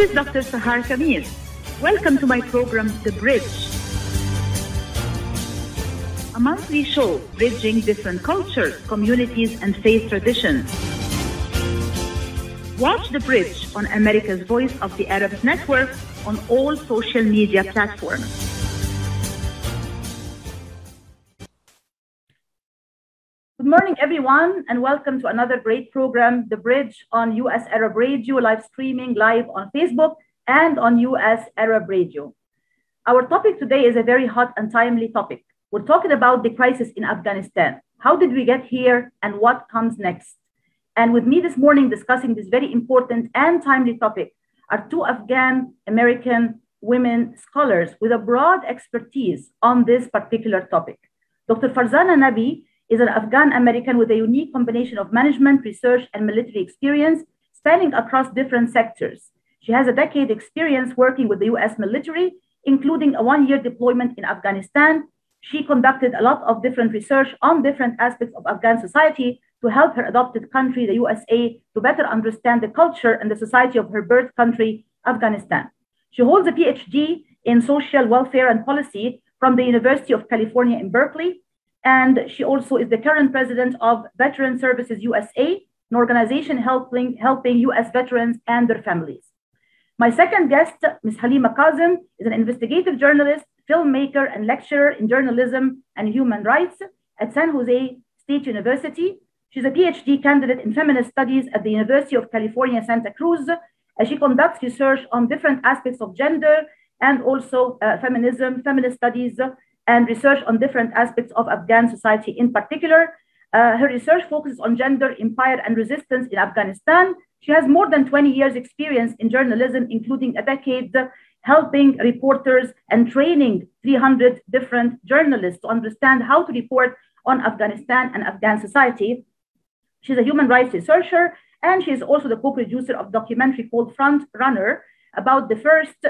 is Dr. Sahar Khamis. Welcome to my program, The Bridge, a monthly show bridging different cultures, communities, and faith traditions. Watch The Bridge on America's Voice of the Arabs Network on all social media platforms. Good morning, everyone, and welcome to another great program, The Bridge, on US Arab Radio, live streaming live on Facebook and on US Arab Radio. Our topic today is a very hot and timely topic. We're talking about the crisis in Afghanistan. How did we get here and what comes next? And with me this morning discussing this very important and timely topic are two Afghan American women scholars with a broad expertise on this particular topic. Dr. Farzana Nabi is an Afghan American with a unique combination of management, research, and military experience spanning across different sectors. She has a decade experience working with the US military, including a one-year deployment in Afghanistan. She conducted a lot of different research on different aspects of Afghan society to help her adopted country, the USA, to better understand the culture and the society of her birth country, Afghanistan. She holds a PhD in social welfare and policy from the University of California in Berkeley. And she also is the current president of Veteran Services USA, an organization helping US veterans and their families. My second guest, Ms. Halima Kazem, is an investigative journalist, filmmaker, and lecturer in journalism and human rights at San Jose State University. She's a PhD candidate in feminist studies at the University of California, Santa Cruz, as she conducts research on different aspects of gender and also feminism, feminist studies, and research on different aspects of Afghan society in particular. Her research focuses on gender, empire, and resistance in Afghanistan. She has more than 20 years experience in journalism, including a decade helping reporters and training 300 different journalists to understand how to report on Afghanistan and Afghan society. She's a human rights researcher, and she is also the co-producer of a documentary called Front Runner about the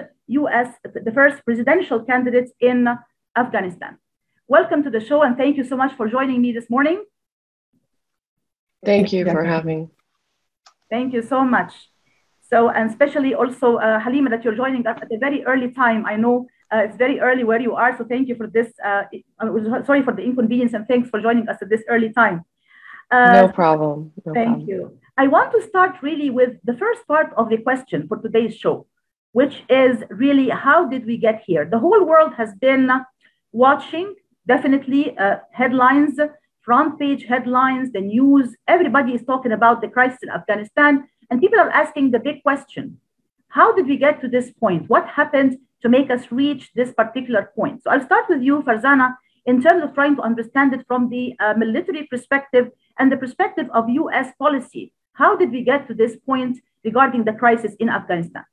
first presidential candidates in Afghanistan. Welcome to the show, and thank you so much for joining me this morning. Thank you for having. Thank you so much. So, and especially also Halima, that you're joining us at a very early time. I know it's very early where you are, so thank you for this. Sorry for the inconvenience, and thanks for joining us at this early time. No problem. Thank you. I want to start really with the first part of the question for today's show, which is really, how did we get here? The whole world has been watching, definitely headlines, front page headlines, the news. Everybody is talking about the crisis in Afghanistan, and people are asking the big question: how did we get to this point? What happened to make us reach this particular point? So I'll start with you, Farzana, in terms of trying to understand it from the military perspective and the perspective of US policy. How did we get to this point regarding the crisis in Afghanistan?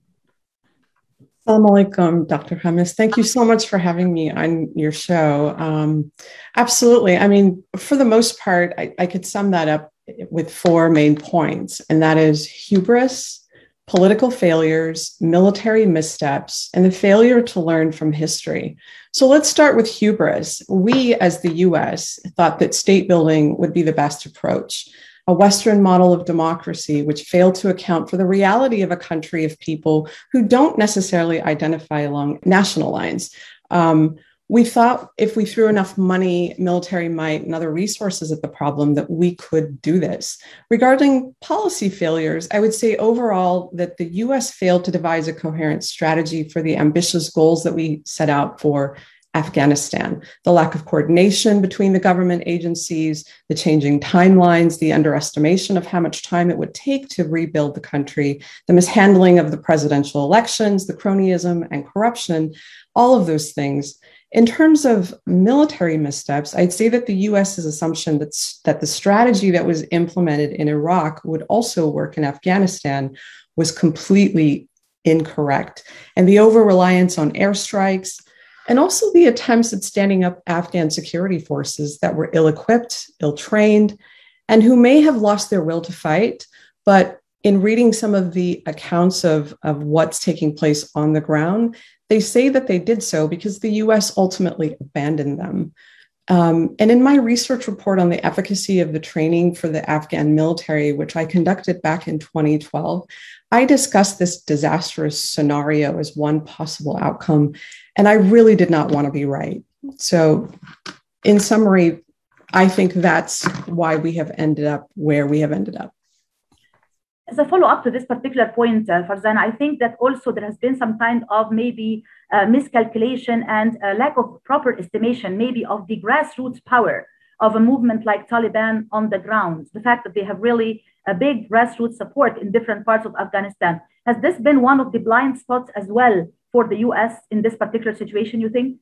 Assalamu alaikum, Dr. Khamis. Thank you so much for having me on your show. Absolutely. I mean, for the most part, I could sum that up with four main points, and that is hubris, political failures, military missteps, and the failure to learn from history. So let's start with hubris. We, as the US, thought that state building would be the best approach. A Western model of democracy, which failed to account for the reality of a country of people who don't necessarily identify along national lines. We thought if we threw enough money, military might, and other resources at the problem, that we could do this. Regarding policy failures, I would say overall that the US failed to devise a coherent strategy for the ambitious goals that we set out for Afghanistan. The lack of coordination between the government agencies, the changing timelines, the underestimation of how much time it would take to rebuild the country, the mishandling of the presidential elections, the cronyism and corruption, all of those things. In terms of military missteps, I'd say that the US's assumption that the strategy that was implemented in Iraq would also work in Afghanistan was completely incorrect. And the over-reliance on airstrikes, and also the attempts at standing up Afghan security forces that were ill-equipped, ill-trained, and who may have lost their will to fight. But in reading some of the accounts of what's taking place on the ground, they say that they did so because the US ultimately abandoned them. And in my research report on the efficacy of the training for the Afghan military, which I conducted back in 2012, I discussed this disastrous scenario as one possible outcome. And I really did not want to be right. So, in summary, I think that's why we have ended up where we have ended up. As a follow-up to this particular point, Farzana, I think that also there has been some kind of maybe miscalculation and lack of proper estimation, maybe of the grassroots power of a movement like Taliban on the ground. The fact that they have really a big grassroots support in different parts of Afghanistan. Has this been one of the blind spots as well for the US in this particular situation, you think?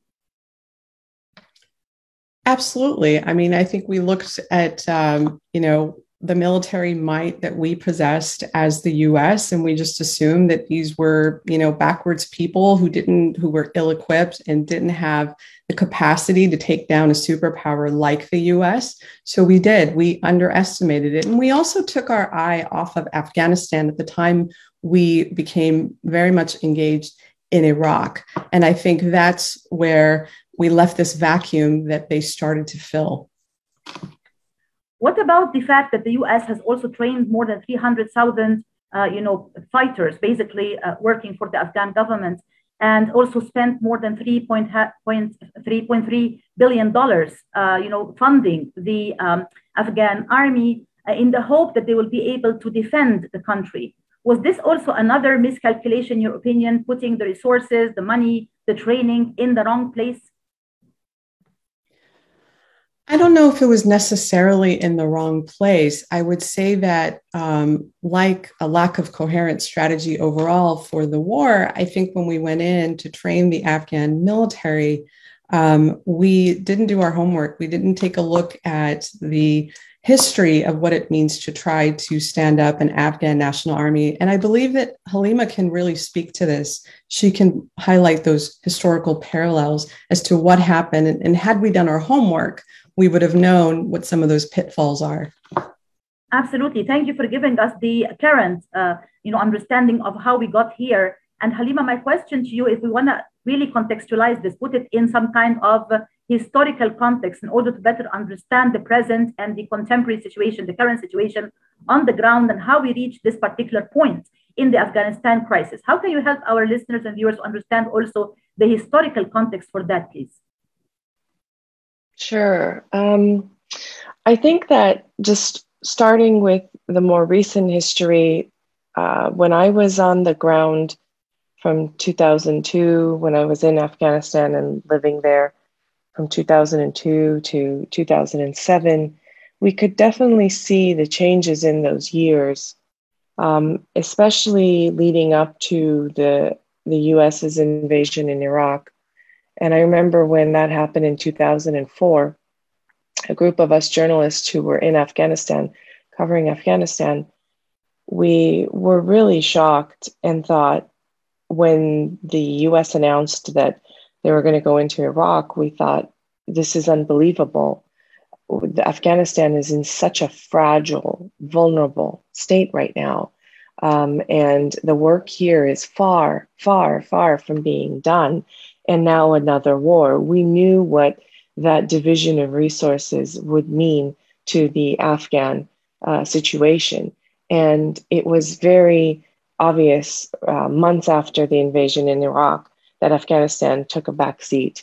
Absolutely. I mean, I think we looked at, the military might that we possessed as the US, and we just assumed that these were, backwards people who were ill-equipped and didn't have the capacity to take down a superpower like the US. So we underestimated it. And we also took our eye off of Afghanistan at the time we became very much engaged in Iraq. And I think that's where we left this vacuum that they started to fill. What about the fact that the U.S. has also trained more than 300,000, fighters, basically working for the Afghan government, and also spent more than $3.3 billion, funding the Afghan army in the hope that they will be able to defend the country? Was this also another miscalculation, in your opinion, putting the resources, the money, the training in the wrong place? I don't know if it was necessarily in the wrong place. I would say that like a lack of coherent strategy overall for the war, I think when we went in to train the Afghan military, we didn't do our homework. We didn't take a look at the history of what it means to try to stand up an Afghan national army. And I believe that Halima can really speak to this. She can highlight those historical parallels as to what happened. And had we done our homework, we would have known what some of those pitfalls are. Absolutely. Thank you for giving us the current, understanding of how we got here. And Halima, my question to you, if we want to really contextualize this, put it in some kind of historical context in order to better understand the present and the contemporary situation, the current situation on the ground, and how we reach this particular point in the Afghanistan crisis. How can you help our listeners and viewers understand also the historical context for that, please? Sure. I think that just starting with the more recent history, when I was on the ground from 2002, when I was in Afghanistan and living there from 2002 to 2007, we could definitely see the changes in those years, especially leading up to the US's invasion in Iraq. And I remember when that happened in 2004, a group of us journalists who were in Afghanistan, covering Afghanistan, we were really shocked and thought, when the US announced that they were going to go into Iraq, we thought, this is unbelievable. Afghanistan is in such a fragile, vulnerable state right now. And the work here is far, far, far from being done. And now another war. We knew what that division of resources would mean to the Afghan situation. And it was very obvious months after the invasion in Iraq that Afghanistan took a backseat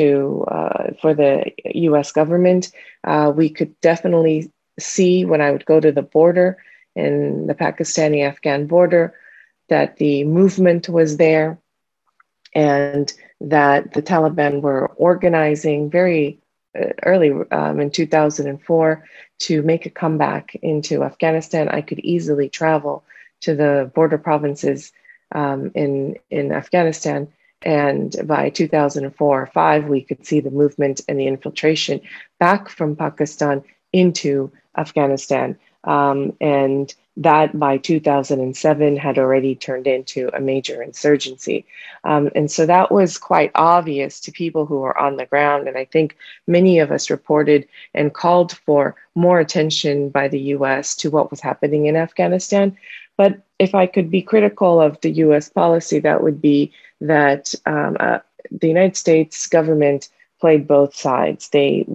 for the US government. We could definitely see when I would go to the border, in the Pakistani-Afghan border, that the movement was there, and that the Taliban were organizing very early in 2004 to make a comeback into Afghanistan. I could easily travel to the border provinces in Afghanistan, and by 2004 or 5, we could see the movement and the infiltration back from Pakistan into Afghanistan. And that by 2007 had already turned into a major insurgency. And so that was quite obvious to people who were on the ground. And I think many of us reported and called for more attention by the US to what was happening in Afghanistan. But if I could be critical of the US policy, that would be that the United States government played both sides.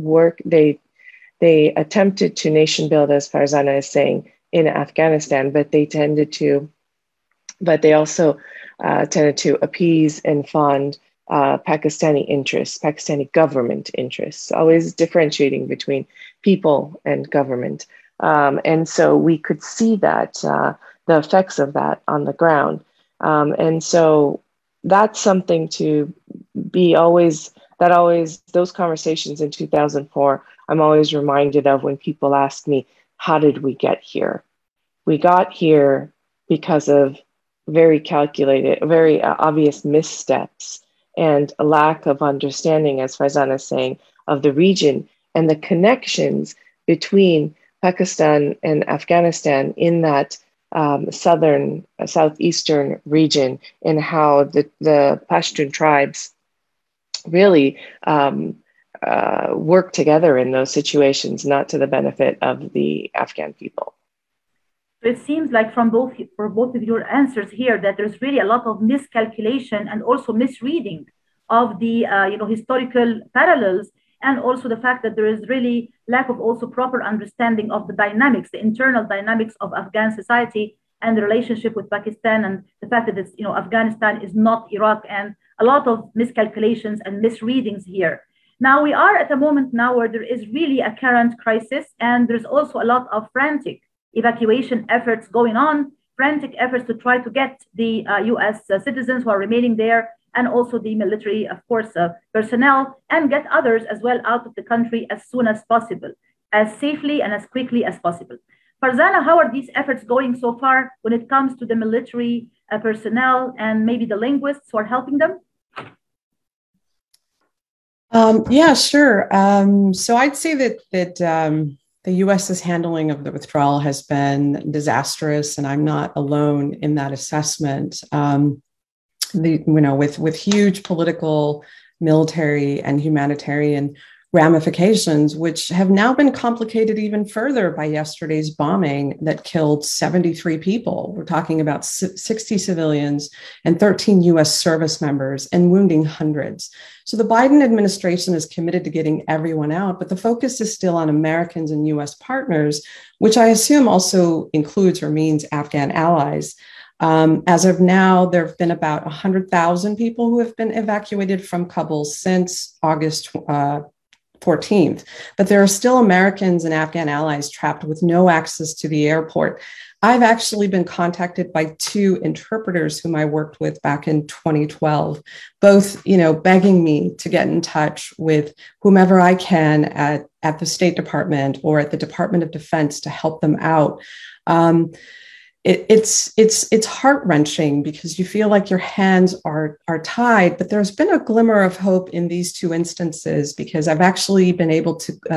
They attempted to nation build, as Farzana is saying, in Afghanistan, but they also tended to appease and fund Pakistani interests, Pakistani government interests, always differentiating between people and government. And so we could see that the effects of that on the ground. And so that's something to be those conversations in 2004, I'm always reminded of when people ask me, how did we get here? We got here because of very calculated, very obvious missteps and a lack of understanding, as Farzana is saying, of the region and the connections between Pakistan and Afghanistan in that southeastern region, and how the Pashtun tribes really work together in those situations, not to the benefit of the Afghan people. It seems like for both of your answers here that there's really a lot of miscalculation and also misreading of the historical parallels, and also the fact that there is really lack of also proper understanding of the dynamics, the internal dynamics of Afghan society and the relationship with Pakistan, and the fact that it's, Afghanistan is not Iraq, and a lot of miscalculations and misreadings here. Now we are at a moment now where there is really a current crisis, and there's also a lot of frantic evacuation efforts going on, frantic efforts to try to get the US citizens who are remaining there, and also the military, of course, personnel, and get others as well out of the country as soon as possible, as safely and as quickly as possible. Farzana, how are these efforts going so far when it comes to the military personnel and maybe the linguists who are helping them? Yeah, sure. So I'd say that the US's handling of the withdrawal has been disastrous, and I'm not alone in that assessment. With huge political, military, and humanitarian ramifications, which have now been complicated even further by yesterday's bombing that killed 73 people. We're talking about 60 civilians and 13 US service members, and wounding hundreds. So the Biden administration is committed to getting everyone out, but the focus is still on Americans and US partners, which I assume also includes or means Afghan allies. As of now, there have been about 100,000 people who have been evacuated from Kabul since August 14th, but there are still Americans and Afghan allies trapped with no access to the airport. I've actually been contacted by 2 interpreters whom I worked with back in 2012, both, begging me to get in touch with whomever I can at the State Department or at the Department of Defense to help them out. It's heart-wrenching because you feel like your hands are tied, but there's been a glimmer of hope in these 2 instances, because I've actually been able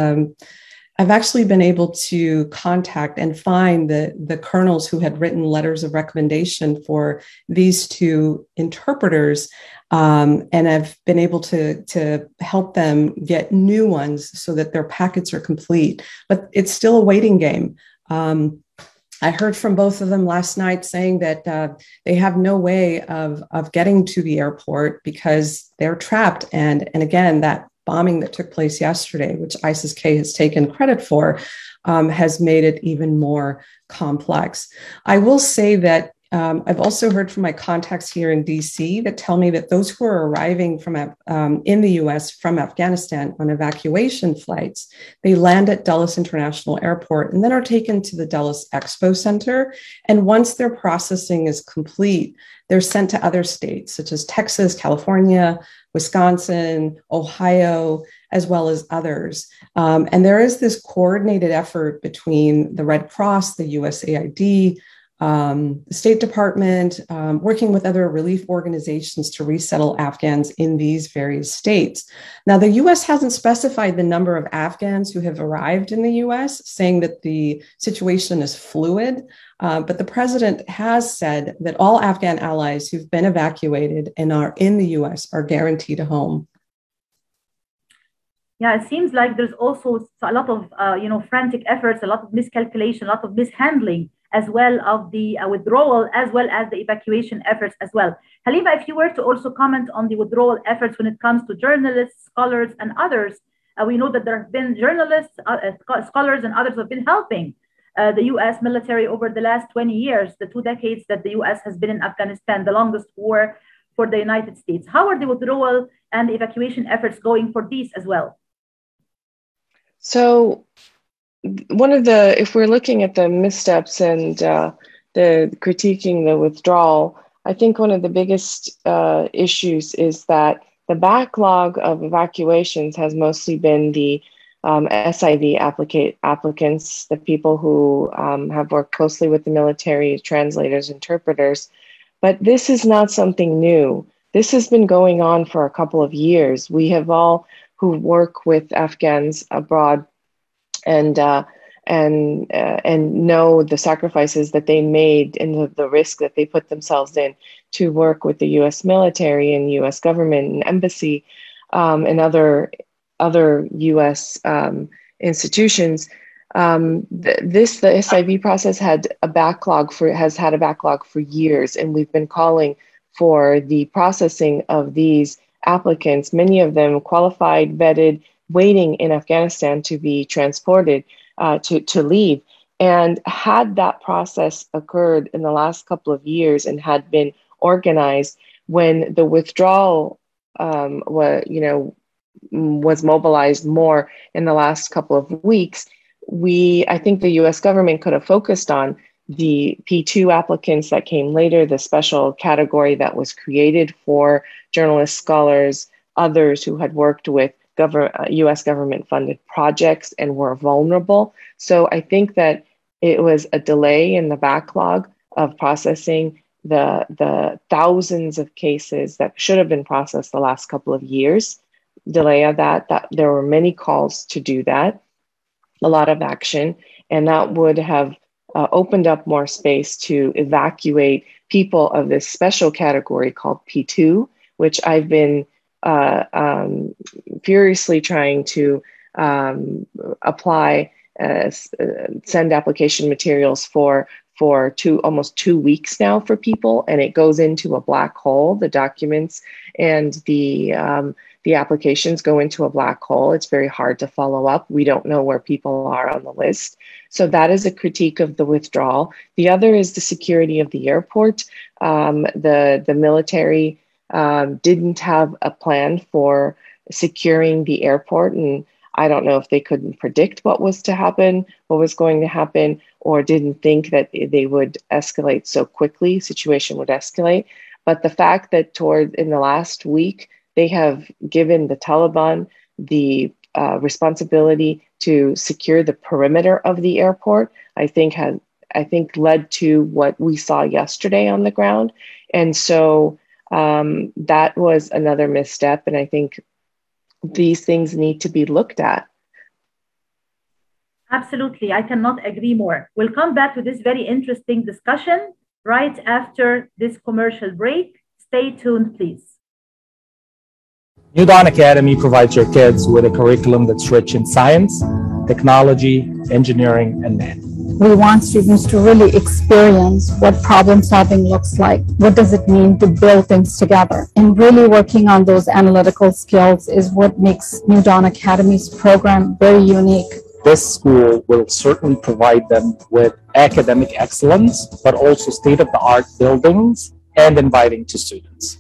to contact and find the colonels who had written letters of recommendation for these 2 interpreters, and I've been able to help them get new ones so that their packets are complete. But it's still a waiting game. I heard from both of them last night saying that they have no way of getting to the airport because they're trapped. And again, that bombing that took place yesterday, which ISIS-K has taken credit for, has made it even more complex. I will say that I've also heard from my contacts here in DC that tell me that those who are arriving from in the US from Afghanistan on evacuation flights, they land at Dulles International Airport and then are taken to the Dulles Expo Center. And once their processing is complete, they're sent to other states such as Texas, California, Wisconsin, Ohio, as well as others. And there is this coordinated effort between the Red Cross, the USAID, the State Department, working with other relief organizations to resettle Afghans in these various states. Now, the US hasn't specified the number of Afghans who have arrived in the US, saying that the situation is fluid, but the president has said that all Afghan allies who've been evacuated and are in the US are guaranteed a home. Yeah, it seems like there's also a lot of frantic efforts, a lot of miscalculation, a lot of mishandling as well of the withdrawal, as well as the evacuation efforts as well. Halima, if you were to also comment on the withdrawal efforts when it comes to journalists, scholars, and others, we know that there have been journalists, scholars, and others who have been helping the U.S. military over the last 20 years, the 2 decades that the U.S. has been in Afghanistan, the longest war for the United States. How are the withdrawal and the evacuation efforts going for these as well? So if we're looking at the missteps and the critiquing the withdrawal, I think one of the biggest issues is that the backlog of evacuations has mostly been the SIV applicants, the people who have worked closely with the military, translators, interpreters. But this is not something new. This has been going on for a couple of years. We have all who work with Afghans abroad and know the sacrifices that they made and the risk that they put themselves in to work with the U.S. military and U.S. government and embassy and other U.S. institutions. The SIV process has had a backlog for years, and we've been calling for the processing of these applicants, many of them qualified, vetted, waiting in Afghanistan to be transported to leave. And had that process occurred in the last couple of years and had been organized when the withdrawal was mobilized more in the last couple of weeks, I think the U.S. government could have focused on the P2 applicants that came later, the special category that was created for journalists, scholars, others who had worked with U.S. government-funded projects and were vulnerable. So I think that it was a delay in the backlog of processing the thousands of cases that should have been processed the last couple of years. Delay of that there were many calls to do that, a lot of action, and that would have opened up more space to evacuate people of this special category called P2, which I've been furiously trying to apply, send application materials for almost 2 weeks now for people, and it goes into a black hole. The documents and the applications go into a black hole. It's very hard to follow up. We don't know where people are on the list. So that is a critique of the withdrawal. The other is the security of the airport. The military didn't have a plan for securing the airport, and I don't know if they couldn't predict what was going to happen, or didn't think that they would escalate so quickly, situation would escalate. But the fact that in the last week, they have given the Taliban the responsibility to secure the perimeter of the airport, I think led to what we saw yesterday on the ground. And so that was another misstep. And I think these things need to be looked at. Absolutely. I cannot agree more. We'll come back to this very interesting discussion right after this commercial break. Stay tuned, please. New Dawn Academy provides your kids with a curriculum that's rich in science, technology, engineering, and math. We want students to really experience what problem solving looks like. What does it mean to build things together? And really working on those analytical skills is what makes New Dawn Academy's program very unique. This school will certainly provide them with academic excellence, but also state-of-the-art buildings and inviting to students.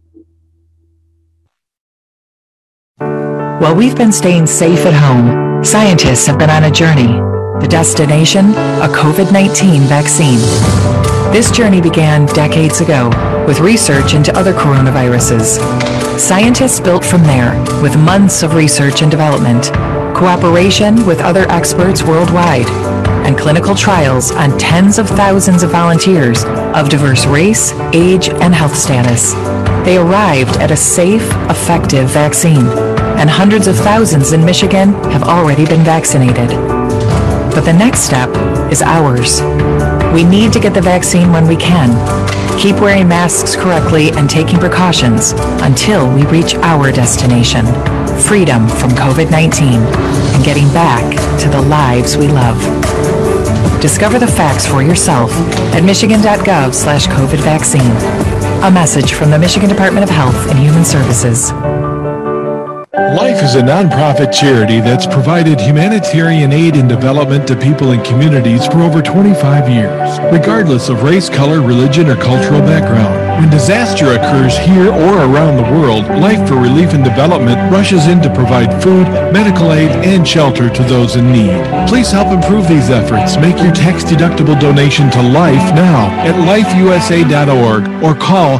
While we've been staying safe at home, scientists have been on a journey. The destination, a COVID-19 vaccine. This journey began decades ago with research into other coronaviruses. Scientists built from there with months of research and development, cooperation with other experts worldwide, and clinical trials on tens of thousands of volunteers of diverse race, age, and health status. They arrived at a safe, effective vaccine, and hundreds of thousands in Michigan have already been vaccinated. But the next step is ours. We need to get the vaccine when we can. Keep wearing masks correctly and taking precautions until we reach our destination, freedom from COVID-19 and getting back to the lives we love. Discover the facts for yourself at michigan.gov/COVID vaccine. A message from the Michigan Department of Health and Human Services. Life is a nonprofit charity that's provided humanitarian aid and development to people and communities for over 25 years, regardless of race, color, religion, or cultural background. When disaster occurs here or around the world, Life for Relief and Development rushes in to provide food, medical aid, and shelter to those in need. Please help improve these efforts. Make your tax-deductible donation to Life now at lifeusa.org or call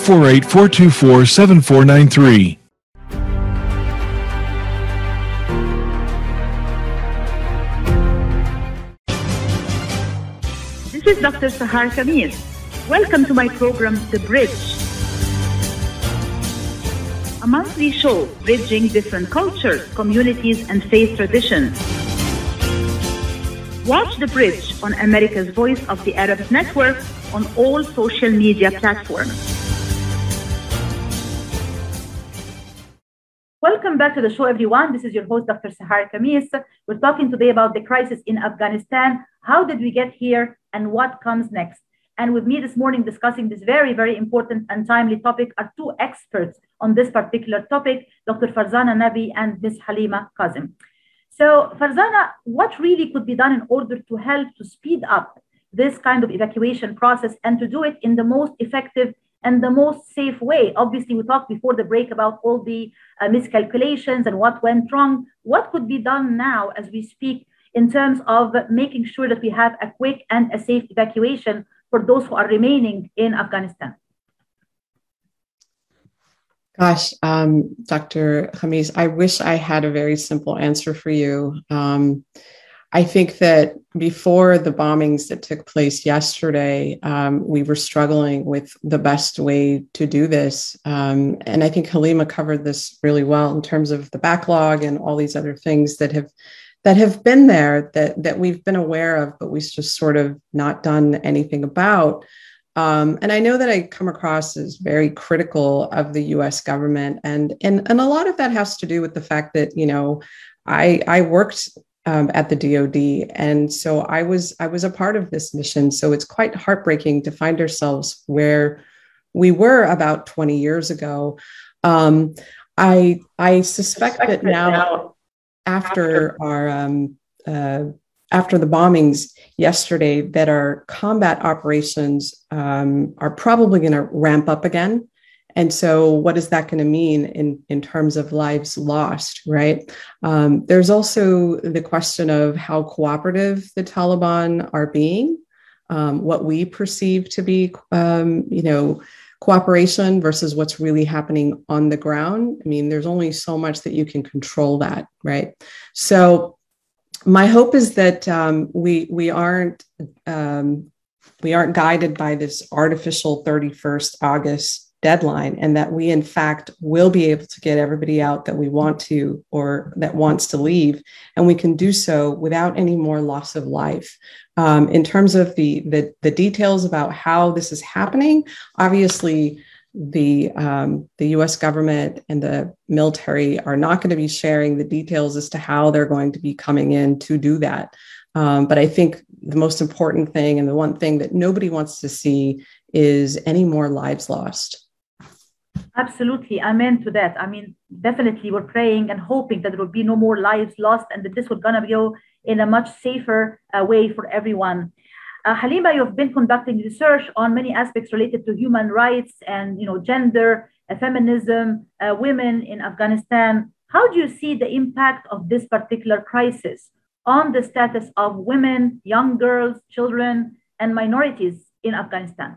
248-424-7493. This is Dr. Sahar Khamis. Welcome to my program, The Bridge, a monthly show bridging different cultures, communities, and faith traditions. Watch The Bridge on America's Voice of the Arabs Network on all social media platforms. Welcome back to the show, everyone. This is your host, Dr. Sahar Khamis. We're talking today about the crisis in Afghanistan. How did we get here and what comes next? And with me this morning discussing this very, very important and timely topic are two experts on this particular topic, Dr. Farzana Nabi and Ms. Halima Kazim. So Farzana, what really could be done in order to help to speed up this kind of evacuation process and to do it in the most effective and the most safe way? Obviously, we talked before the break about all the miscalculations and what went wrong. What could be done now as we speak in terms of making sure that we have a quick and a safe evacuation for those who are remaining in Afghanistan? Gosh, Dr. Khamis, I wish I had a very simple answer for you. I think that before the bombings that took place yesterday, we were struggling with the best way to do this. And I think Halima covered this really well in terms of the backlog and all these other things that have been there that we've been aware of, but we've just sort of not done anything about. And I know that I come across as very critical of the US government. And a lot of that has to do with the fact that, you know, I worked at the DoD. And so I was a part of this mission. So it's quite heartbreaking to find ourselves where we were about 20 years ago. I suspect that now, after the bombings yesterday, that our combat operations are probably going to ramp up again. And so what is that going to mean in terms of lives lost, right? There's also the question of how cooperative the Taliban are being, what we perceive to be, cooperation versus what's really happening on the ground. I mean, there's only so much that you can control that, right? So my hope is that we aren't guided by this artificial 31st August deadline, and that we in fact will be able to get everybody out that we want to or that wants to leave, and we can do so without any more loss of life. In terms of the details about how this is happening, obviously the U.S. government and the military are not going to be sharing the details as to how they're going to be coming in to do that. But I think the most important thing, and the one thing that nobody wants to see, is any more lives lost. Absolutely. Amen to that. I mean, definitely we're praying and hoping that there will be no more lives lost and that this will gonna go in a much safer way for everyone. Halima, you've been conducting research on many aspects related to human rights and, you know, gender, feminism, women in Afghanistan. How do you see the impact of this particular crisis on the status of women, young girls, children, and minorities in Afghanistan?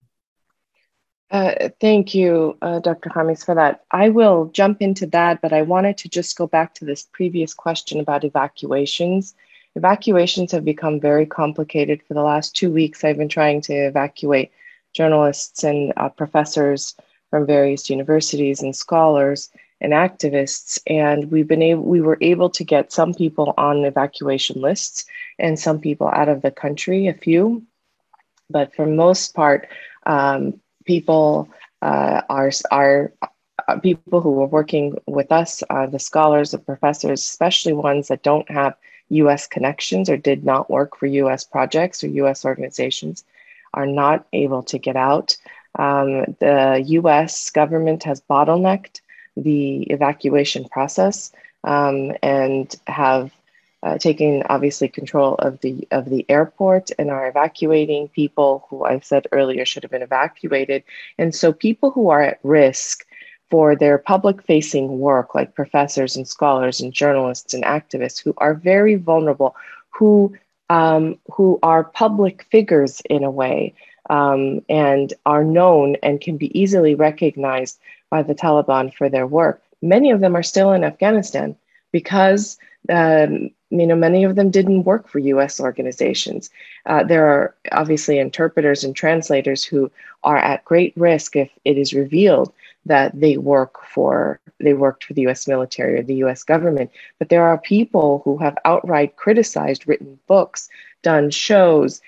Thank you, Dr. Khamis, for that. I will jump into that, but I wanted to just go back to this previous question about evacuations. Evacuations have become very complicated. For the last 2 weeks, I've been trying to evacuate journalists and professors from various universities and scholars and activists. And we were able to get some people on evacuation lists and some people out of the country, a few. But for most part, people are people who are working with us, the scholars, the professors, especially ones that don't have US connections or did not work for US projects or US organizations are not able to get out. The US government has bottlenecked the evacuation process and have taken obviously control of the airport and are evacuating people who I've said earlier should have been evacuated. And so people who are at risk for their public facing work, like professors and scholars and journalists and activists who are very vulnerable, who are public figures in a way, and are known and can be easily recognized by the Taliban for their work. Many of them are still in Afghanistan because many of them didn't work for US organizations. There are obviously interpreters and translators who are at great risk if it is revealed that they worked for the US military or the US government. But there are people who have outright criticized, written books, done shows,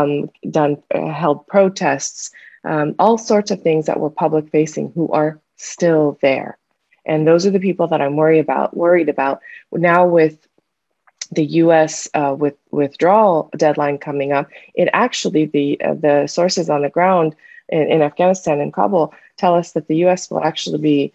held protests, all sorts of things that were public facing who are still there. And those are the people that I'm worried about now with the U.S. Withdrawal deadline coming up. It actually, the sources on the ground in Afghanistan and Kabul tell us that the U.S. will actually be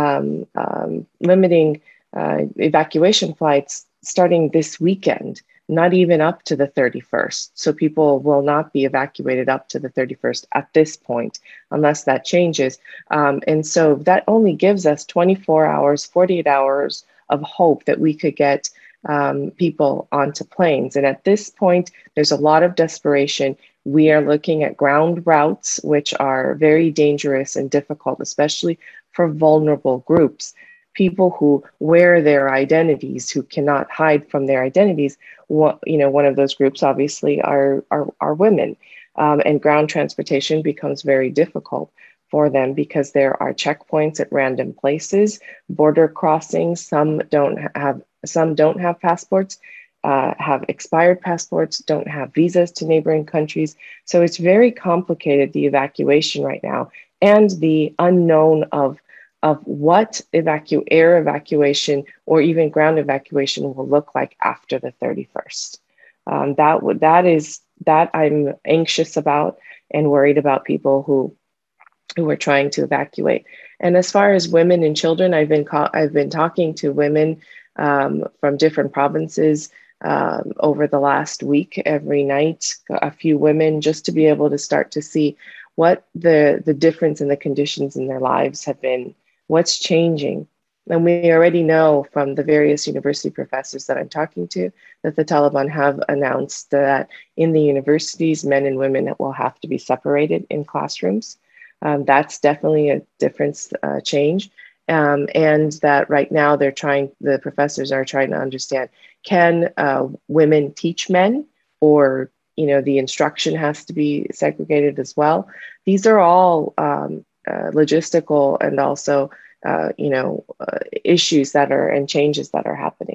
limiting evacuation flights starting this weekend, not even up to the 31st. So people will not be evacuated up to the 31st at this point, unless that changes. And so that only gives us 24 hours, 48 hours of hope that we could get people onto planes. And at this point, there's a lot of desperation. We are looking at ground routes, which are very dangerous and difficult, especially for vulnerable groups. People who wear their identities, who cannot hide from their identities. One of those groups obviously are women, and ground transportation becomes very difficult for them because there are checkpoints at random places, border crossings. Some don't have passports, have expired passports, don't have visas to neighboring countries. So it's very complicated, the evacuation right now, and the unknown of what air evacuation or even ground evacuation will look like after the 31st. That I'm anxious about and worried about people who are trying to evacuate. And as far as women and children, I've been talking to women from different provinces over the last week, every night, a few women, just to be able to start to see what the difference in the conditions in their lives have been, what's changing. And we already know from the various university professors that I'm talking to that the Taliban have announced that in the universities, men and women will have to be separated in classrooms. That's definitely a difference, change. And that right now the professors are trying to understand, can women teach men, or, the instruction has to be segregated as well? These are all logistical and also, issues and changes that are happening.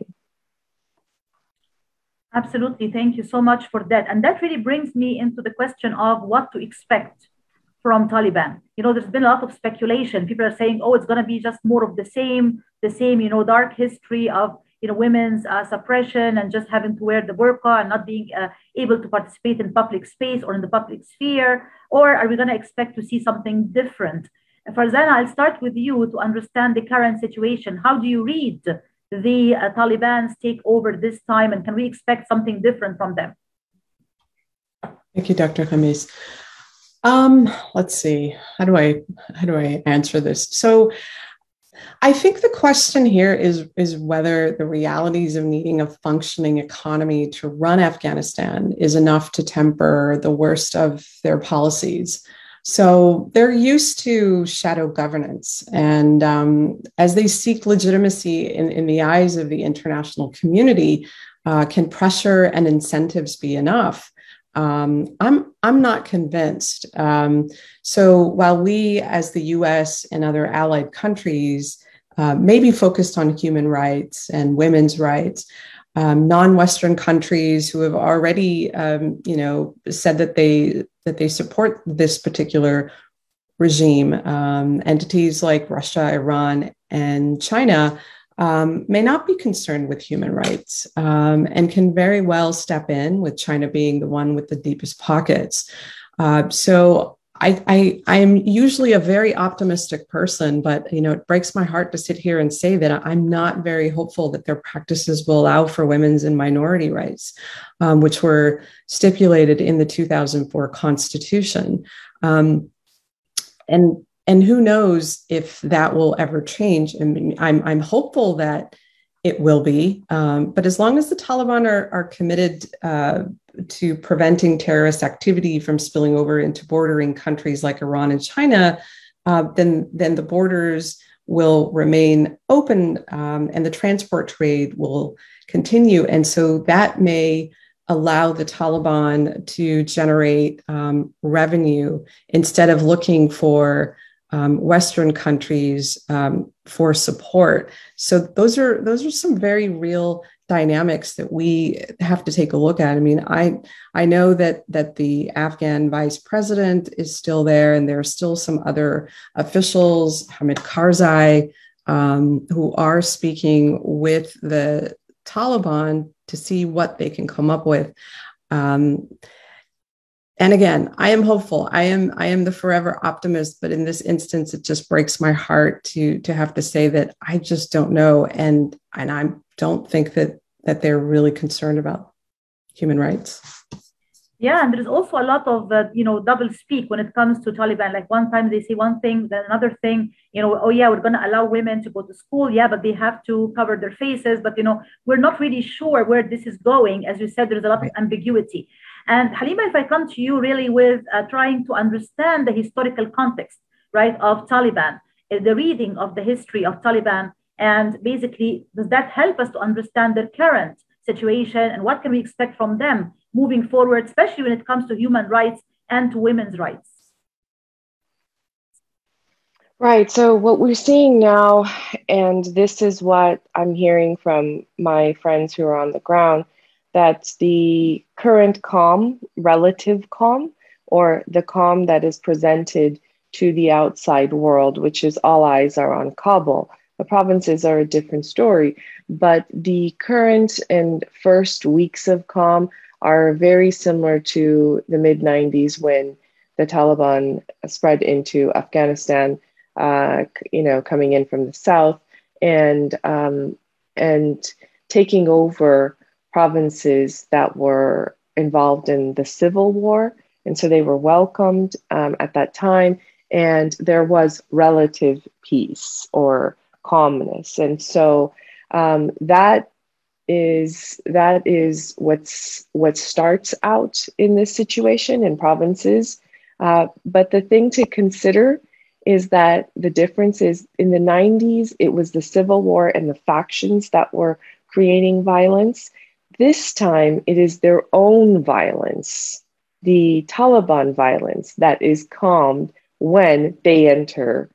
Absolutely. Thank you so much for that. And that really brings me into the question of what to expect from Taliban. There's been a lot of speculation. People are saying, it's going to be just more of the same, dark history of, women's suppression and just having to wear the burqa and not being able to participate in public space or in the public sphere. Or are we going to expect to see something different? Farzana, I'll start with you to understand the current situation. How do you read the Taliban's take over this time, and can we expect something different from them? Thank you, Dr. Khamis. Let's see. How do I answer this? So I think the question here is whether the realities of needing a functioning economy to run Afghanistan is enough to temper the worst of their policies. So they're used to shadow governance, and as they seek legitimacy in the eyes of the international community, can pressure and incentives be enough? I'm not convinced. So while we, as the U.S. and other allied countries, may be focused on human rights and women's rights, non-Western countries who have already, said that they support this particular regime, entities like Russia, Iran, and China may not be concerned with human rights and can very well step in, with China being the one with the deepest pockets. So I am usually a very optimistic person, but it breaks my heart to sit here and say that I'm not very hopeful that their practices will allow for women's and minority rights, which were stipulated in the 2004 Constitution. And who knows if that will ever change? I mean, I'm hopeful that it will be, but as long as the Taliban are committed to preventing terrorist activity from spilling over into bordering countries like Iran and China, then the borders will remain open and the transport trade will continue. And so that may allow the Taliban to generate revenue instead of looking for Western countries for support. So those are some very real dynamics that we have to take a look at. I mean, I know that the Afghan vice president is still there, and there are still some other officials, Hamid Karzai, who are speaking with the Taliban to see what they can come up with. And again, I am hopeful. I am the forever optimist, but in this instance, it just breaks my heart to have to say that I just don't know, and I don't think that they're really concerned about human rights. Yeah, and there's also a lot of double speak when it comes to Taliban. Like one time they say one thing, then another thing. Oh yeah, we're going to allow women to go to school. Yeah, but they have to cover their faces. But we're not really sure where this is going. As you said, there's a lot of ambiguity. And Halima, if I come to you really with trying to understand the historical context, right, of Taliban, the reading of the history of Taliban, and basically, does that help us to understand their current situation and what can we expect from them moving forward, especially when it comes to human rights and to women's rights? Right. So what we're seeing now, and this is what I'm hearing from my friends who are on the ground, that the current calm, relative calm, or the calm that is presented to the outside world, which is all eyes are on Kabul. The provinces are a different story, but the current and first weeks of calm are very similar to the mid-90s when the Taliban spread into Afghanistan, coming in from the south and taking over provinces that were involved in the civil war. And so they were welcomed at that time, and there was relative peace or calmness. And so that is what starts out in this situation in provinces. But the thing to consider is that the difference is in the 90s, it was the civil war and the factions that were creating violence. This time, it is their own violence, the Taliban violence, that is calmed when they enter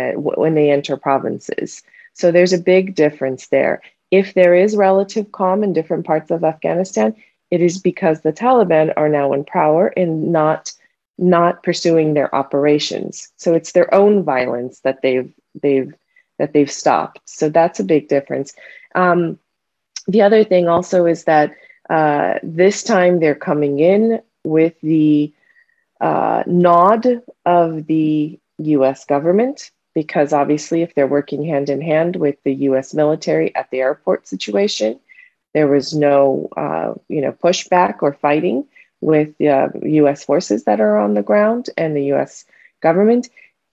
provinces. So there's a big difference there. If there is relative calm in different parts of Afghanistan, it is because the Taliban are now in power and not pursuing their operations. So it's their own violence that they've stopped. So that's a big difference. The other thing also is that this time they're coming in with the nod of the US government, because obviously if they're working hand in hand with the US military at the airport situation, there was no pushback or fighting with the US forces that are on the ground and the US government.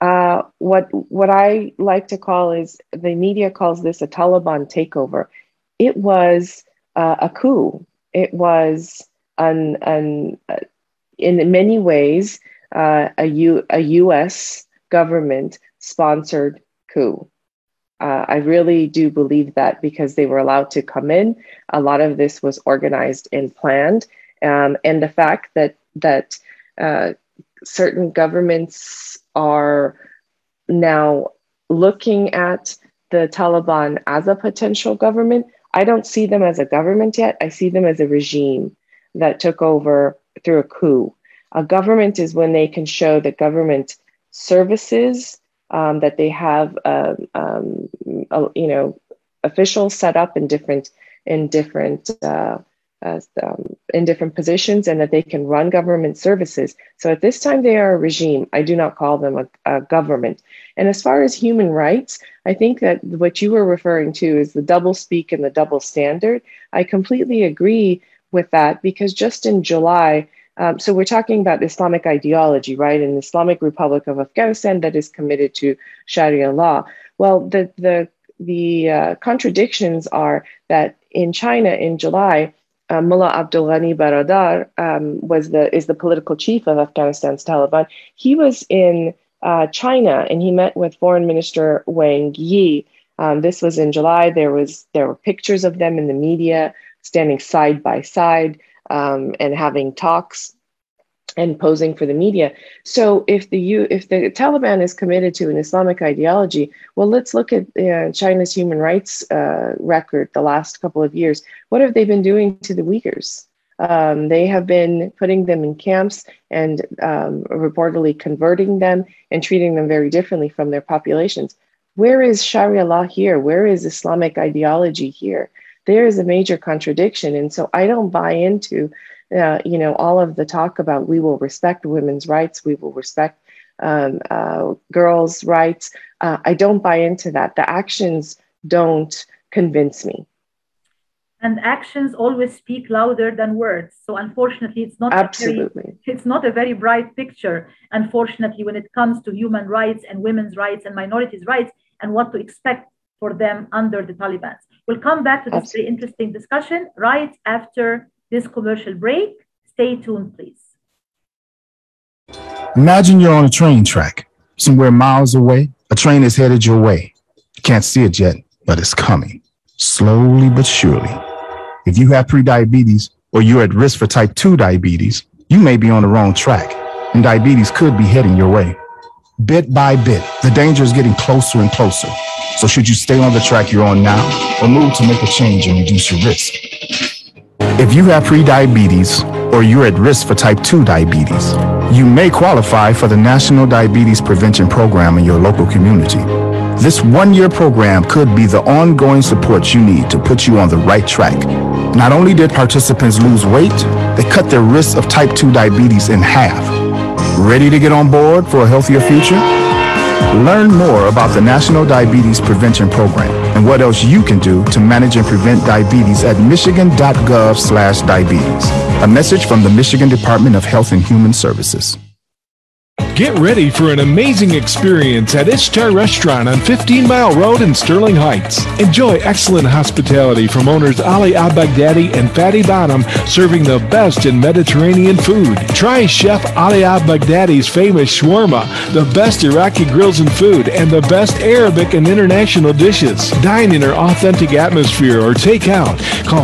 What I like to call is, the media calls this a Taliban takeover. It was a coup. It was in many ways a US government sponsored coup. I really do believe that, because they were allowed to come in. A lot of this was organized and planned. And the fact that certain governments are now looking at the Taliban as a potential government, I don't see them as a government yet. I see them as a regime that took over through a coup. A government is when they can show the government services, that they have, officials set up in different positions, and that they can run government services. So at this time, they are a regime. I do not call them a government. And as far as human rights, I think that what you were referring to is the double speak and the double standard. I completely agree with that, because just in July, so we're talking about Islamic ideology, right? An Islamic Republic of Afghanistan that is committed to Sharia law. Well, the contradictions are that in China in July, Mullah Abdul Ghani Baradar is the political chief of Afghanistan's Taliban. He was in China and he met with Foreign Minister Wang Yi. This was in July. There were pictures of them in the media standing side by side and having talks and posing for the media. So if the Taliban is committed to an Islamic ideology, well, let's look at China's human rights record the last couple of years. What have they been doing to the Uyghurs? They have been putting them in camps and reportedly converting them and treating them very differently from their populations. Where is Sharia law here? Where is Islamic ideology here? There is a major contradiction. And so I don't buy into all of the talk about we will respect women's rights, we will respect girls' rights. I don't buy into that. The actions don't convince me. And actions always speak louder than words. So unfortunately, it's not a very bright picture, unfortunately, when it comes to human rights and women's rights and minorities' rights and what to expect for them under the Taliban. We'll come back to this very interesting discussion right after this commercial break. Stay tuned, please. Imagine you're on a train track, somewhere miles away. A train is headed your way. You can't see it yet, but it's coming, slowly but surely. If you have prediabetes or you're at risk for type 2 diabetes, you may be on the wrong track, and diabetes could be heading your way. Bit by bit, the danger is getting closer and closer. So should you stay on the track you're on now or move to make a change and reduce your risk? If you have prediabetes or you're at risk for type 2 diabetes, you may qualify for the National Diabetes Prevention Program in your local community. This one-year program could be the ongoing support you need to put you on the right track. Not only did participants lose weight, they cut their risk of type 2 diabetes in half. Ready to get on board for a healthier future? Learn more about the National Diabetes Prevention Program and what else you can do to manage and prevent diabetes at michigan.gov/diabetes. A message from the Michigan Department of Health and Human Services. Get ready for an amazing experience at Ishtar Restaurant on 15 Mile Road in Sterling Heights. Enjoy excellent hospitality from owners Ali Al-Baghdadi and Fatty Bottom, serving the best in Mediterranean food. Try Chef Ali Al-Baghdadi's famous shawarma, the best Iraqi grills and food, and the best Arabic and international dishes. Dine in our authentic atmosphere or take out. Call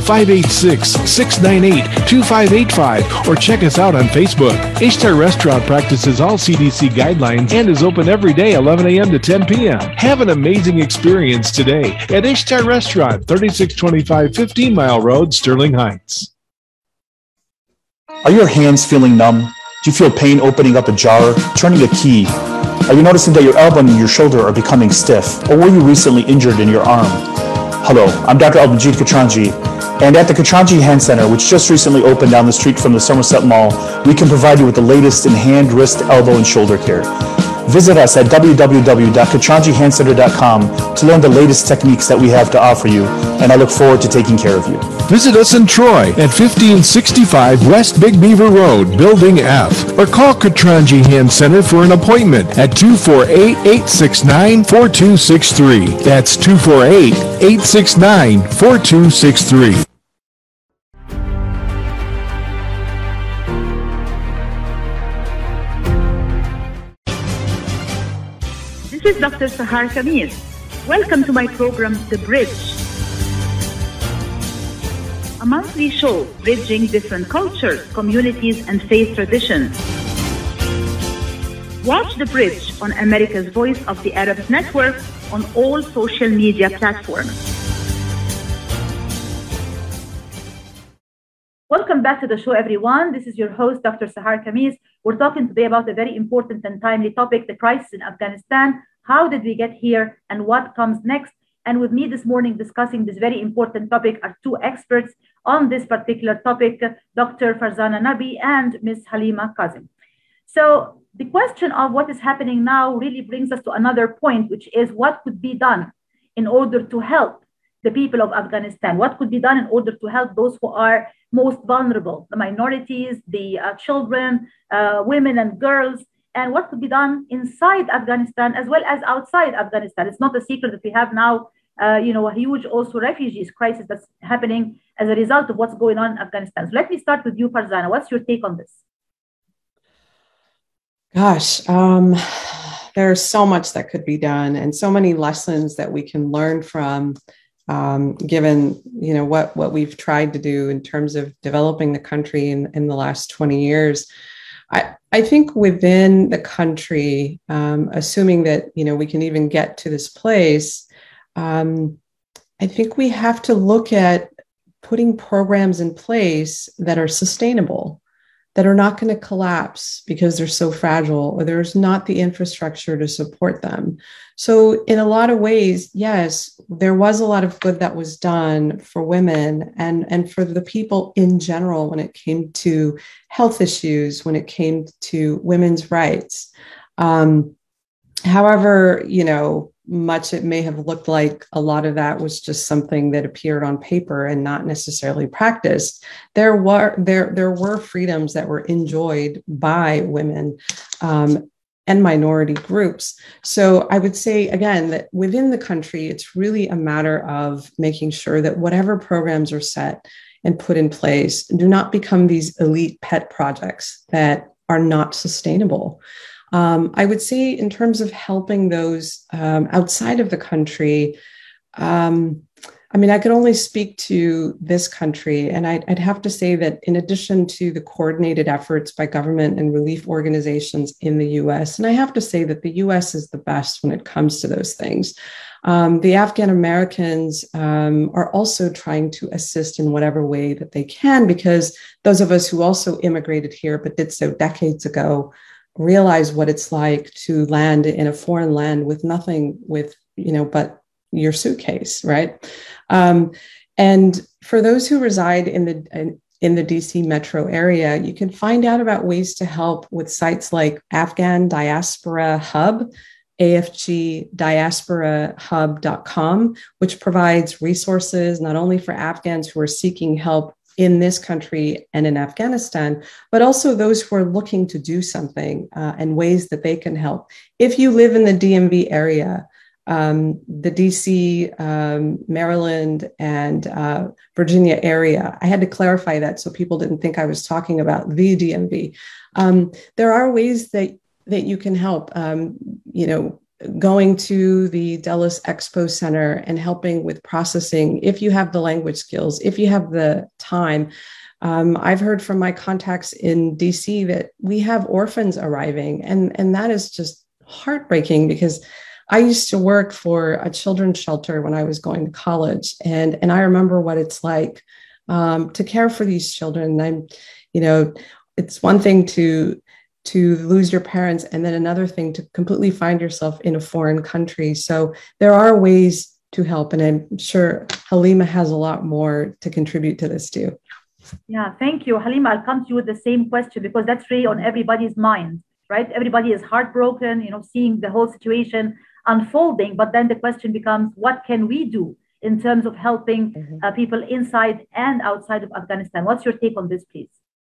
586-698-2585 or check us out on Facebook. Ishtar Restaurant practices all CDC guidelines and is open every day 11 a.m. to 10 p.m. Have an amazing experience today at Ishtar Restaurant, 3625 15 Mile Road, Sterling Heights. Are your hands feeling numb? Do you feel pain opening up a jar, turning a key? Are you noticing that your elbow and your shoulder are becoming stiff? Or were you recently injured in your arm? Hello, I'm Dr. Al-Majid Katranji, and at the Katranji Hand Center, which just recently opened down the street from the Somerset Mall, we can provide you with the latest in hand, wrist, elbow, and shoulder care. Visit us at www.katranjihandcenter.com to learn the latest techniques that we have to offer you, and I look forward to taking care of you. Visit us in Troy at 1565 West Big Beaver Road, Building F, or call Katranji Hand Center for an appointment at 248-869-4263. That's 248-869-4263. This is Dr. Sahar Khamis. Welcome to my program, The Bridge, a monthly show bridging different cultures, communities, and faith traditions. Watch The Bridge on America's Voice of the Arabs Network on all social media platforms. Welcome back to the show, everyone. This is your host, Dr. Sahar Khamis. We're talking today about a very important and timely topic, the crisis in Afghanistan. How did we get here and what comes next? And with me this morning discussing this very important topic are two experts on this particular topic, Dr. Farzana Nabi and Ms. Halima Kazim. So the question of what is happening now really brings us to another point, which is what could be done in order to help the people of Afghanistan? What could be done in order to help those who are most vulnerable, the minorities, the children, women and girls, and what could be done inside Afghanistan as well as outside Afghanistan? It's not a secret that we have now, a huge also refugees crisis that's happening as a result of what's going on in Afghanistan. So let me start with you, Farzana. What's your take on this? Gosh, there's so much that could be done and so many lessons that we can learn from, given, what we've tried to do in terms of developing the country in the last 20 years. I think within the country, assuming that, we can even get to this place, I think we have to look at putting programs in place that are sustainable, that are not going to collapse because they're so fragile or there's not the infrastructure to support them. So in a lot of ways, yes, there was a lot of good that was done for women and for the people in general when it came to health issues, when it came to women's rights. However, much it may have looked like a lot of that was just something that appeared on paper and not necessarily practiced. There were freedoms that were enjoyed by women and minority groups. So I would say, again, that within the country, it's really a matter of making sure that whatever programs are set and put in place do not become these elite pet projects that are not sustainable. I would say in terms of helping those outside of the country, I could only speak to this country, and I'd have to say that in addition to the coordinated efforts by government and relief organizations in the US, and I have to say that the US is the best when it comes to those things. The Afghan Americans are also trying to assist in whatever way that they can, because those of us who also immigrated here but did so decades ago realize what it's like to land in a foreign land with nothing but your suitcase, right? And for those who reside in the DC metro area, you can find out about ways to help with sites like Afghan Diaspora Hub, afgdiasporahub.com, which provides resources not only for Afghans who are seeking help in this country and in Afghanistan, but also those who are looking to do something and ways that they can help. If you live in the DMV area, the DC, Maryland, and Virginia area, I had to clarify that so people didn't think I was talking about the DMV. There are ways that you can help, going to the Dulles Expo Center and helping with processing, if you have the language skills, if you have the time. I've heard from my contacts in DC that we have orphans arriving, and that is just heartbreaking, because I used to work for a children's shelter when I was going to college, and I remember what it's like to care for these children. It's one thing to lose your parents, and then another thing to completely find yourself in a foreign country. So there are ways to help, and I'm sure Halima has a lot more to contribute to this too. Yeah, thank you, Halima. I'll come to you with the same question, because that's really on everybody's mind, right? Everybody is heartbroken, seeing the whole situation unfolding, but then the question becomes, what can we do in terms of helping people inside and outside of Afghanistan? What's your take on this, please?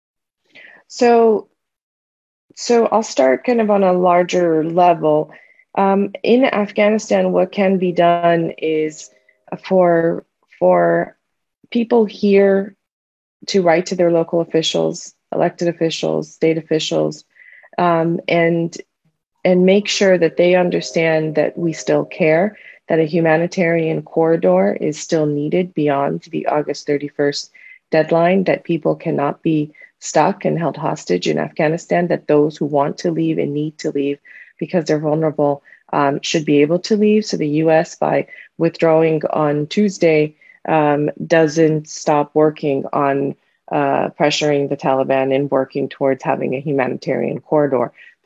So I'll start kind of on a larger level. In Afghanistan, what can be done is for people here to write to their local officials, elected officials, state officials, and make sure that they understand that we still care, that a humanitarian corridor is still needed beyond the August 31st deadline, that people cannot be stuck and held hostage in Afghanistan, that those who want to leave and need to leave because they're vulnerable should be able to leave. So the US, by withdrawing on Tuesday, doesn't stop working on pressuring the Taliban and working towards having a humanitarian corridor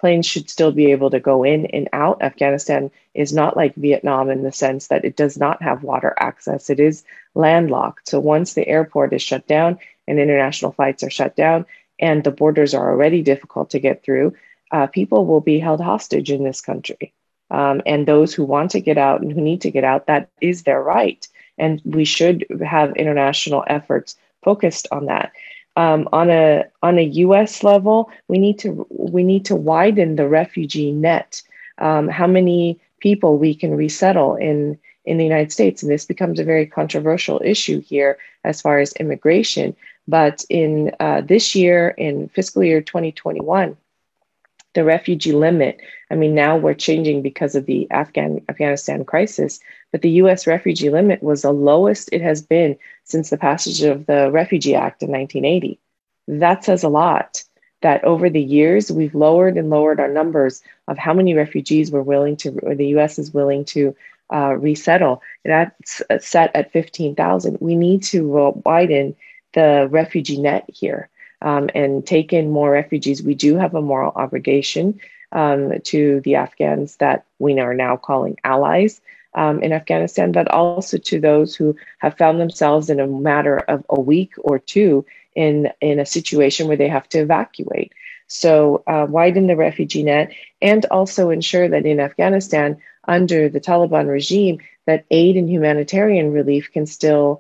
planes should still be able to go in and out. Afghanistan is not like Vietnam in the sense that it does not have water access. It is landlocked. So once the airport is shut down and international flights are shut down and the borders are already difficult to get through, people will be held hostage in this country. And those who want to get out and who need to get out, that is their right. And we should have international efforts focused on that. On a U.S. level, we need to widen the refugee net. How many people we can resettle in the United States, and this becomes a very controversial issue here as far as immigration. But in this year, in fiscal year 2021, the refugee limit, I mean, now we're changing because of the Afghanistan crisis, but the US refugee limit was the lowest it has been since the passage of the Refugee Act in 1980. That says a lot, that over the years, we've lowered and lowered our numbers of how many refugees we're willing to, or the US is willing to resettle. That's set at 15,000. We need to widen the refugee net here. And take in more refugees. We do have a moral obligation to the Afghans that we are now calling allies in Afghanistan, but also to those who have found themselves in a matter of a week or two in a situation where they have to evacuate. So widen the refugee net and also ensure that in Afghanistan, under the Taliban regime, that aid and humanitarian relief can still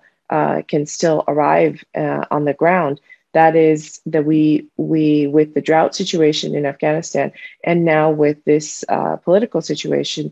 arrive on the ground. That is that we with the drought situation in Afghanistan and now with this political situation,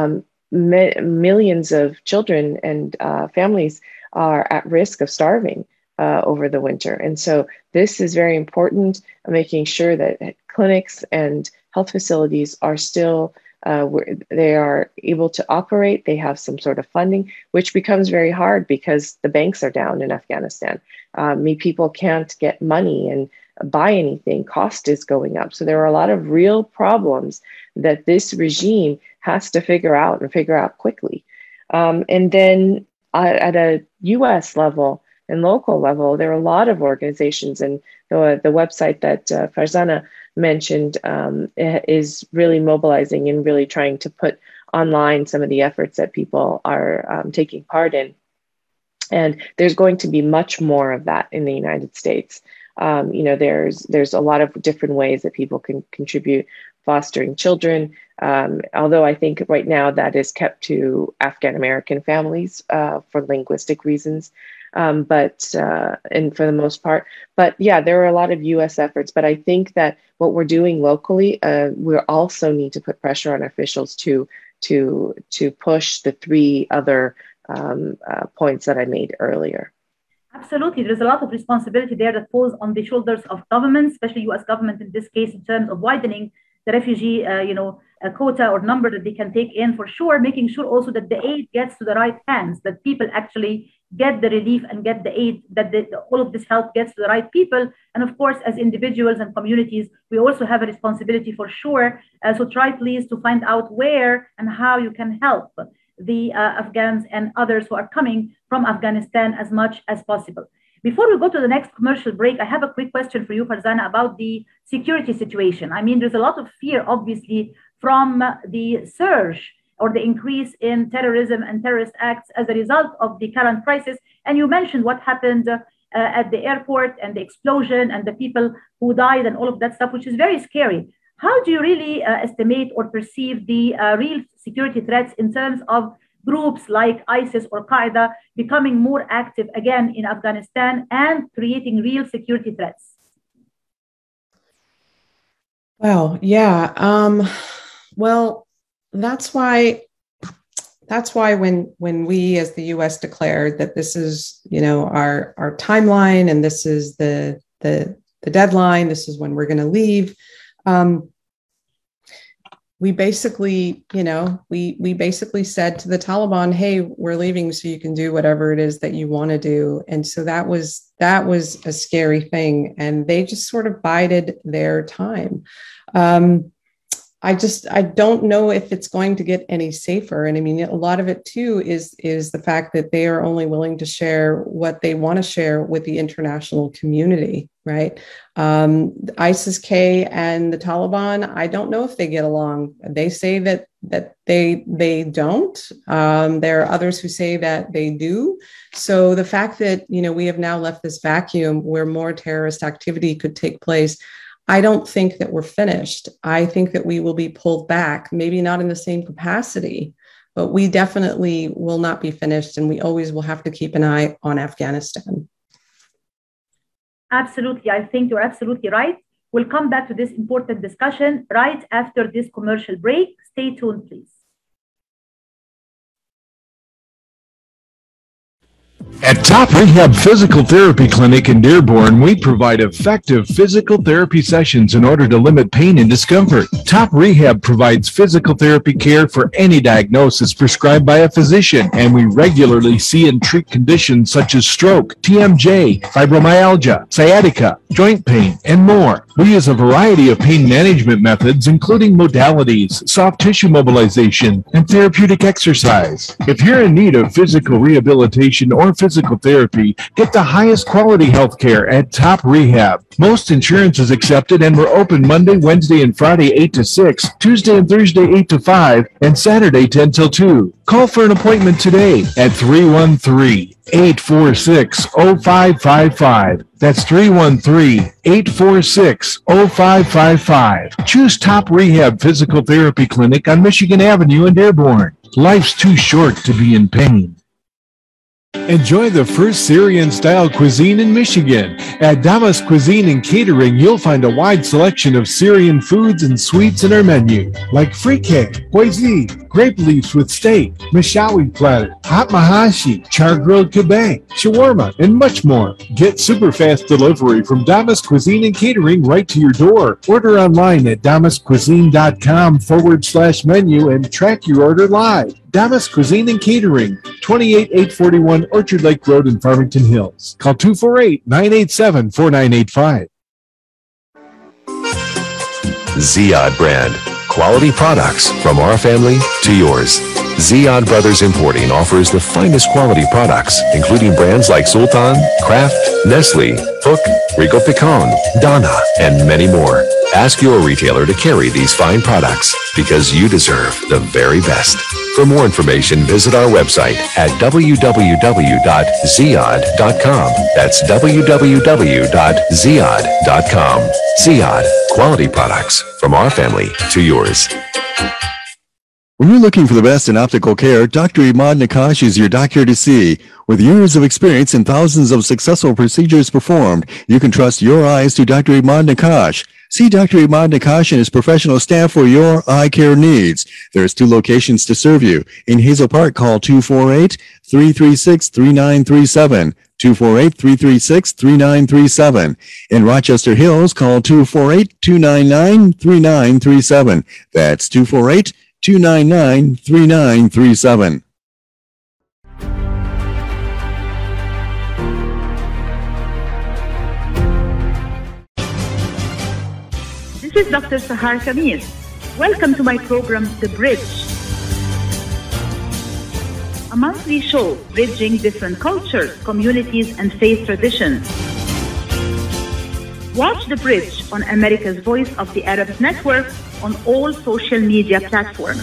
millions of children and families are at risk of starving over the winter. And so this is very important, making sure that clinics and health facilities are still they are able to operate. They have some sort of funding, which becomes very hard because the banks are down in Afghanistan. People can't get money and buy anything. Cost is going up. So there are a lot of real problems that this regime has to figure out and figure out quickly. And then at a US level and local level, there are a lot of organizations, and the website that Farzana mentioned is really mobilizing and really trying to put online some of the efforts that people are taking part in. And there's going to be much more of that in the United States. There's a lot of different ways that people can contribute, fostering children. Although I think right now that is kept to Afghan American families for linguistic reasons. And for the most part, but yeah, there are a lot of U.S. efforts. But I think that what we're doing locally, we also need to put pressure on officials to push the three other points that I made earlier. Absolutely, there's a lot of responsibility there that falls on the shoulders of governments, especially U.S. government in this case, in terms of widening the refugee, quota or number that they can take in for sure, making sure also that the aid gets to the right hands, that people actually get the relief and get the aid, that all of this help gets to the right people. And of course, as individuals and communities, we also have a responsibility for sure. So try please to find out where and how you can help the Afghans and others who are coming from Afghanistan as much as possible. Before we go to the next commercial break, I have a quick question for you, Farzana, about the security situation. I mean, there's a lot of fear, obviously, from the surge or the increase in terrorism and terrorist acts as a result of the current crisis. And you mentioned what happened at the airport and the explosion and the people who died and all of that stuff, which is very scary. How do you really estimate or perceive the real security threats in terms of groups like ISIS or Qaeda becoming more active again in Afghanistan and creating real security threats? Well, yeah. Well, that's why when we as the U.S. declared that this is, our timeline and this is the deadline, this is when we're going to leave. We basically, we basically said to the Taliban, hey, we're leaving so you can do whatever it is that you want to do. And so that was a scary thing. And they just sort of bided their time. I don't know if it's going to get any safer. And I mean, a lot of it too is the fact that they are only willing to share what they want to share with the international community, right? ISIS-K and the Taliban, I don't know if they get along. They say that they don't. There are others who say that they do. So the fact that, we have now left this vacuum where more terrorist activity could take place, I don't think that we're finished. I think that we will be pulled back, maybe not in the same capacity, but we definitely will not be finished. And we always will have to keep an eye on Afghanistan. Absolutely. I think you're absolutely right. We'll come back to this important discussion right after this commercial break. Stay tuned, please. At Top Rehab Physical Therapy Clinic in Dearborn, we provide effective physical therapy sessions in order to limit pain and discomfort. Top Rehab provides physical therapy care for any diagnosis prescribed by a physician, and we regularly see and treat conditions such as stroke, TMJ, fibromyalgia, sciatica, joint pain, and more. We use a variety of pain management methods, including modalities, soft tissue mobilization, and therapeutic exercise. If you're in need of physical rehabilitation or physical therapy, get the highest quality health care at Top Rehab. Most insurance is accepted, and we're open Monday, Wednesday, and Friday 8 to 6, Tuesday and Thursday 8 to 5, and Saturday 10 till 2. Call for an appointment today at 313-846-0555. That's 313-846-0555. Choose Top Rehab Physical Therapy Clinic on Michigan Avenue in Dearborn. Life's too short to be in pain. Enjoy the first Syrian-style cuisine in Michigan. At Damas Cuisine and Catering, you'll find a wide selection of Syrian foods and sweets in our menu, like frikeh, poisi, grape leaves with steak, mishawi platter, hot mahashi, char-grilled kebab, shawarma, and much more. Get super fast delivery from Damas Cuisine and Catering right to your door. Order online at damascuisine.com/menu and track your order live. Damas Cuisine and Catering, 28841 Orchard Lake Road in Farmington Hills. Call 248-987-4985. Ziyad brand. Quality products from our family to yours. Ziyad Brothers Importing offers the finest quality products, including brands like Sultan, Kraft, Nestle, Hook, Rico Picon, Donna, and many more. Ask your retailer to carry these fine products because you deserve the very best. For more information, visit our website at www.ziyad.com. That's www.ziyad.com. Ziyad, quality products from our family to yours. When you're looking for the best in optical care, Dr. Imad Nakash is your doctor to see. With years of experience and thousands of successful procedures performed, you can trust your eyes to Dr. Imad Nakash. See Dr. Imad Nakash and his professional staff for your eye care needs. There's 2 locations to serve you. In Hazel Park, call 248-336-3937. 248-336-3937. In Rochester Hills, call 248-299-3937. That's 248-299-3937. This is Dr. Sahar Khamis. Welcome to my program, The Bridge, a monthly show bridging different cultures, communities, and faith traditions. Watch The Bridge on America's Voice of the Arabs Network on all social media platforms.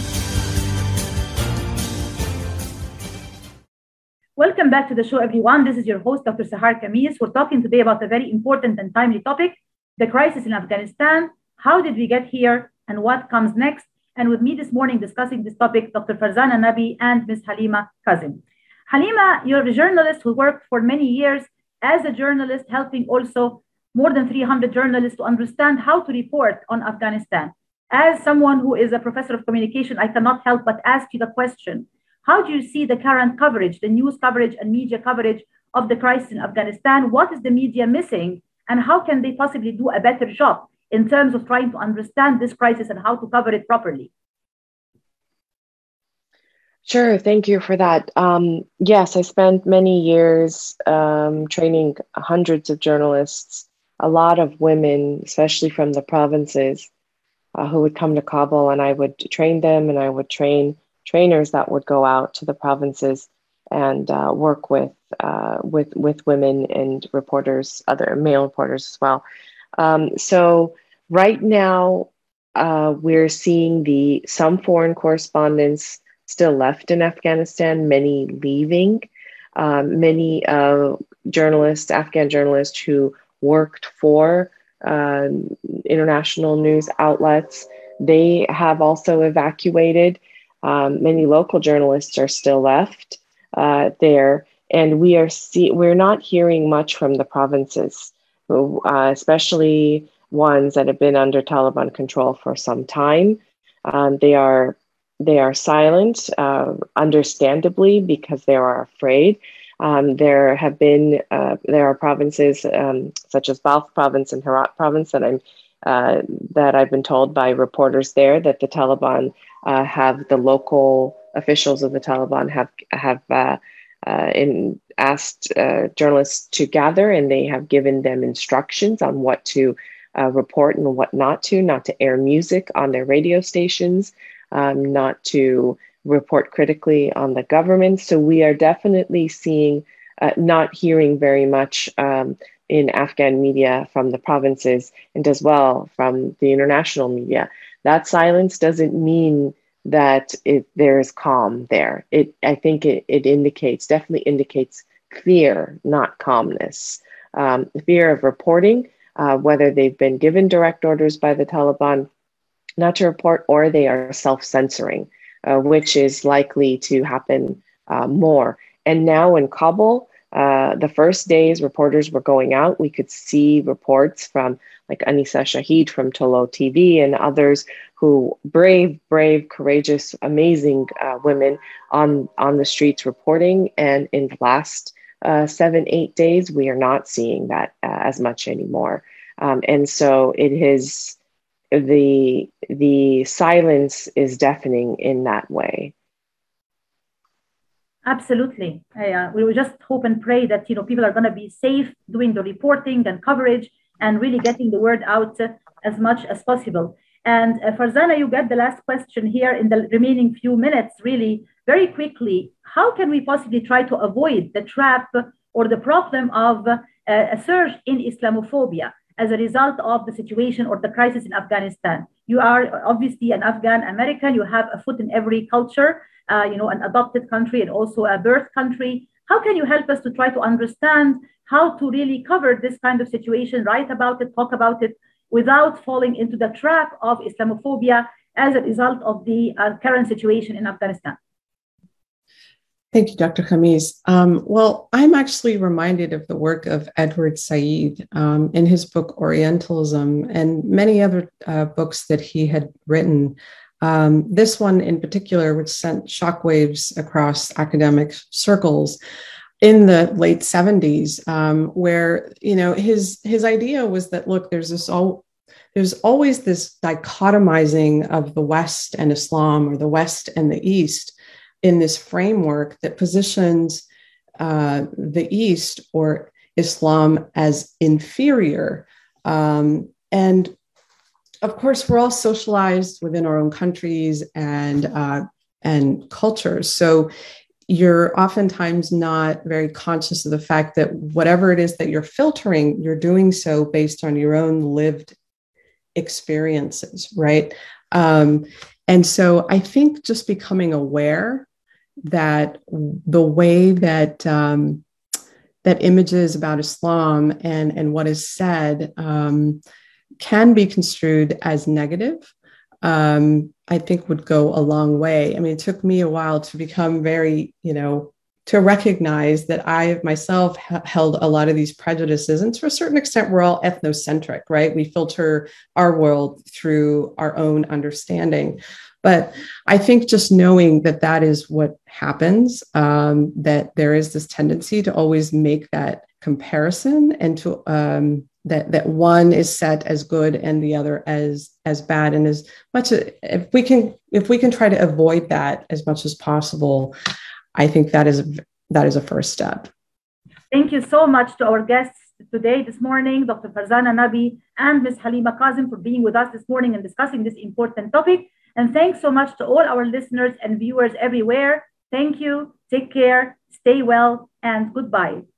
Welcome back to the show, everyone. This is your host, Dr. Sahar Khamis. We're talking today about a very important and timely topic, the crisis in Afghanistan. How did we get here and what comes next? And with me this morning discussing this topic, Dr. Farzana Nabi and Ms. Halima Kazim. Halima, you're a journalist who worked for many years as a journalist, helping also more than 300 journalists to understand how to report on Afghanistan. As someone who is a professor of communication, I cannot help but ask you the question, how do you see the current coverage, the news coverage and media coverage of the crisis in Afghanistan? What is the media missing? And how can they possibly do a better job in terms of trying to understand this crisis and how to cover it properly? Sure, thank you for that. Yes, I spent many years training hundreds of journalists, a lot of women, especially from the provinces, who would come to Kabul, and I would train them, and I would train trainers that would go out to the provinces and work with women and reporters, other male reporters as well. So right now, we're seeing some foreign correspondents still left in Afghanistan, many leaving, many journalists, Afghan journalists who worked for international news outlets, they have also evacuated. Many local journalists are still left there, and we're not hearing much from the provinces, especially ones that have been under Taliban control for some time. They are silent, understandably, because they are afraid. There are provinces such as Balkh province and Herat province that I've been told by reporters there that the Taliban have, the local officials of the Taliban have asked journalists to gather, and they have given them instructions on what to report and what not to air music on their radio stations, not to report critically on the government. So we are definitely not hearing very much in Afghan media from the provinces, and as well from the international media. That silence doesn't mean that there's calm there. I think it definitely indicates fear, not calmness. Fear of reporting, whether they've been given direct orders by the Taliban not to report, or they are self-censoring, which is likely to happen more. And now in Kabul, the first days reporters were going out, we could see reports from like Anisa Shahid from Tolo TV and others who brave, courageous, amazing women on the streets reporting. And in the last 7-8 days, we are not seeing that as much anymore. And so it is, the silence is deafening in that way. Absolutely. We will just hope and pray that people are going to be safe doing the reporting and coverage and really getting the word out as much as possible. And Farzana, you get the last question here in the remaining few minutes, really very quickly. How can we possibly try to avoid the trap or the problem of a surge in Islamophobia as a result of the situation or the crisis in Afghanistan? You are obviously an Afghan American. You have a foot in every culture, an adopted country and also a birth country. How can you help us to try to understand how to really cover this kind of situation, write about it, talk about it, without falling into the trap of Islamophobia as a result of the current situation in Afghanistan? Thank you, Dr. Khamis. Well, I'm actually reminded of the work of Edward Said in his book Orientalism and many other books that he had written. This one in particular, which sent shockwaves across academic circles in the late 70s, where his idea was that, look, there's always this dichotomizing of the West and Islam, or the West and the East, in this framework that positions the East or Islam as inferior. And of course, we're all socialized within our own countries and cultures. So you're oftentimes not very conscious of the fact that whatever it is that you're filtering, you're doing so based on your own lived experiences, right? And so I think just becoming aware that the way that that images about Islam and what is said can be construed as negative, I think would go a long way. I mean, it took me a while to become very, to recognize that I myself held a lot of these prejudices. And to a certain extent, we're all ethnocentric, right? We filter our world through our own understanding. But I think just knowing that that is what happens, that there is this tendency to always make that comparison and to that one is set as good and the other as bad, and as much if we can try to avoid that as much as possible, I think that is a first step. Thank you so much to our guests today, this morning, Dr. Farzana Nabi and Ms. Halima Kazim for being with us this morning and discussing this important topic. And thanks so much to all our listeners and viewers everywhere. Thank you. Take care. Stay well and goodbye.